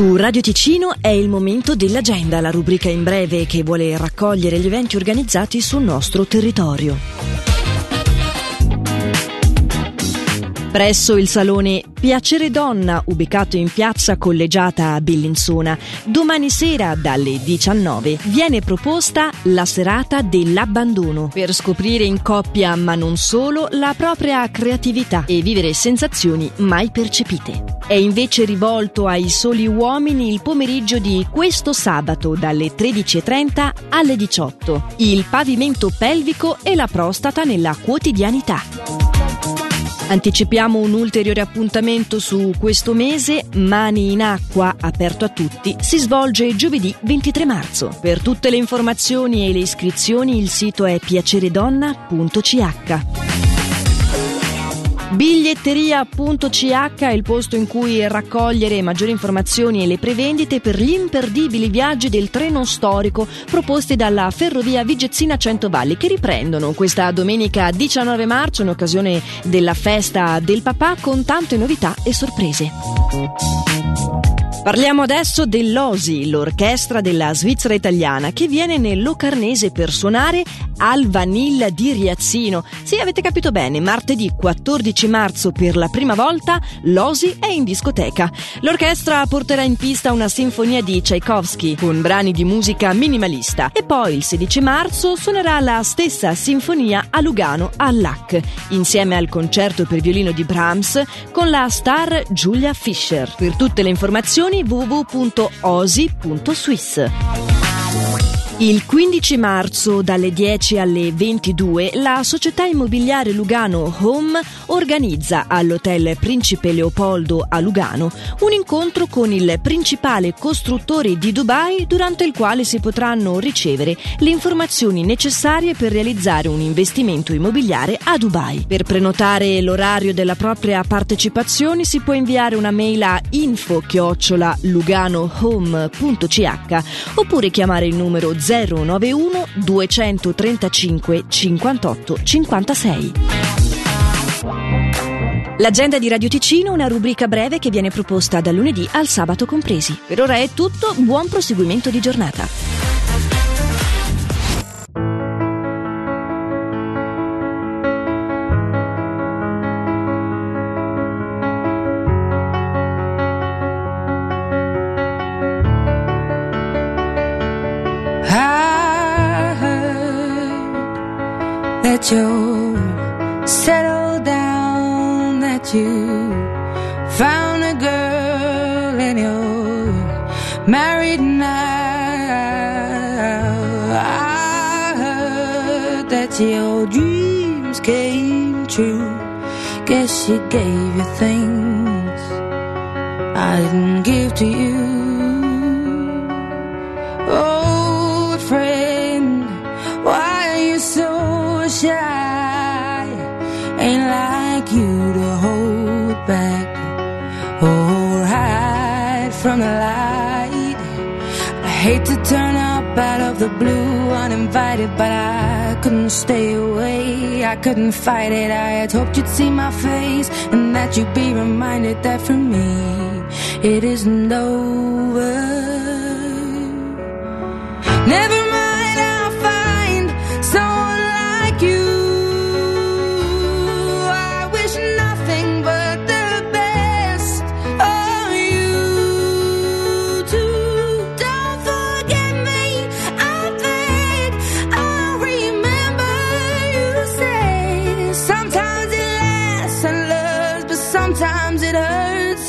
Su Radio Ticino è il momento dell'agenda, la rubrica in breve che vuole raccogliere gli eventi organizzati sul nostro territorio. Presso il salone Piacere Donna, ubicato in piazza Collegiata a Bellinzona, domani sera dalle 19 viene proposta la serata dell'abbandono per scoprire in coppia, ma non solo, la propria creatività e vivere sensazioni mai percepite. È invece rivolto ai soli uomini il pomeriggio di questo sabato dalle 13:30 alle 18. Il pavimento pelvico e la prostata nella quotidianità. Anticipiamo un ulteriore appuntamento su questo mese. Mani in acqua, aperto a tutti, si svolge giovedì 23 marzo. Per tutte le informazioni e le iscrizioni il sito è piaceredonna.ch. Biglietteria.ch è il posto in cui raccogliere maggiori informazioni e le prevendite per gli imperdibili viaggi del treno storico proposti dalla Ferrovia Vigezzina Centovalli, che riprendono questa domenica 19 marzo in occasione della festa del papà, con tante novità e sorprese. Parliamo adesso dell'OSI, l'orchestra della Svizzera italiana, che viene nel Locarnese per suonare al Vanilla di Riazzino. Sì, avete capito bene, martedì 14 marzo per la prima volta l'OSI è in discoteca. L'orchestra porterà in pista una sinfonia di Tchaikovsky con brani di musica minimalista e poi il 16 marzo suonerà la stessa sinfonia a Lugano all'AC, insieme al concerto per violino di Brahms con la star Julia Fischer. Per tutte le informazioni www.osi.swiss. Il 15 marzo dalle 10 alle 22 la società immobiliare Lugano Home organizza all'Hotel Principe Leopoldo a Lugano un incontro con il principale costruttore di Dubai, durante il quale si potranno ricevere le informazioni necessarie per realizzare un investimento immobiliare a Dubai. Per prenotare l'orario della propria partecipazione si può inviare una mail a info@luganohome.ch oppure chiamare il numero 091 235 58 56. L'agenda di Radio Ticino, una rubrica breve che viene proposta dal lunedì al sabato compresi. Per ora è tutto, buon proseguimento di giornata. That you settled down, that you found a girl and you're married now. I heard that your dreams came true. Guess she gave you things I didn't give to you. Old friend, why are you so shy? Ain't like you to hold back or hide from the light. I hate to turn up out of the blue uninvited, but I couldn't stay away, I couldn't fight it. I had hoped you'd see my face and that you'd be reminded that for me it isn't over. Never mind, I'll find someone like you. I wish nothing but the best of you too. Don't forget me, I beg. I'll remember you say sometimes it lasts and loves, but sometimes it hurts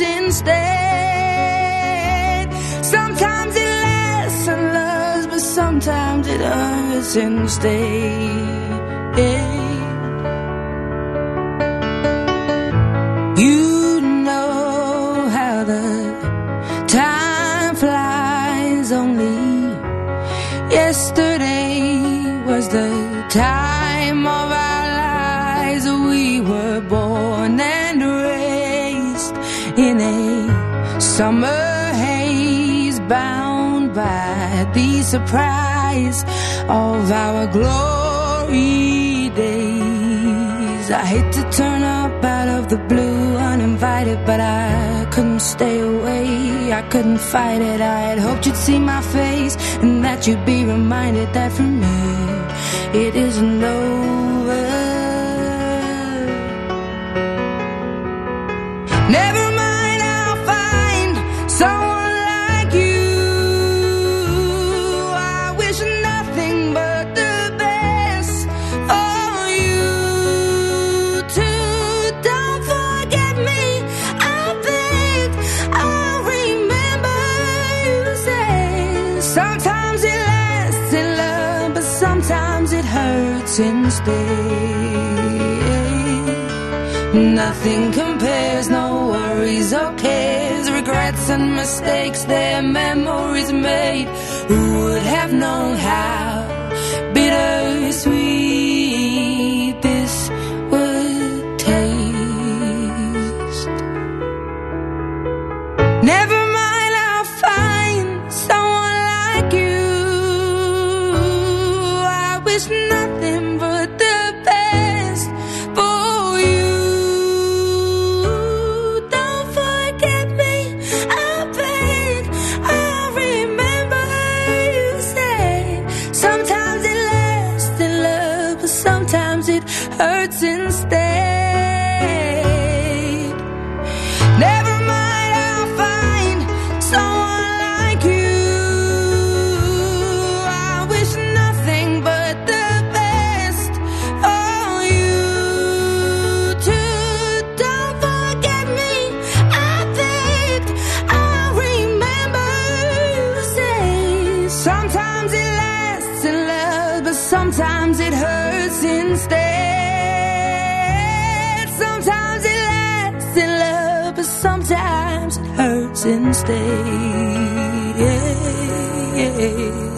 instead. Sometimes it lasts and loves, but sometimes it hurts instead. You know how the time flies. Only yesterday was the time of our lives. We were born and raised in a summer haze, bound by the surprise of our glory days. I hate to turn up out of the blue uninvited, but I couldn't stay away, I couldn't fight it. I had hoped you'd see my face and that you'd be reminded that for me it isn't over. Never mind, I'll find someone like you. I wish nothing but the best for you too. Don't forget me, I beg. I remember you say sometimes it lasts in love, but sometimes it hurts instead. Nothing compares, no worries or cares, regrets and mistakes, their memories made. Who would have known how bittersweet this would taste? Never mind, I'll find someone like you. I wish nothing but the best for you. Hurts instead. Never mind, I'll find someone like you. I wish nothing but the best for you too. Don't forget me, I begged. I remember you say sometimes it lasts in love, but sometimes it hurts instead. Sometimes it hurts instead. Yeah, yeah.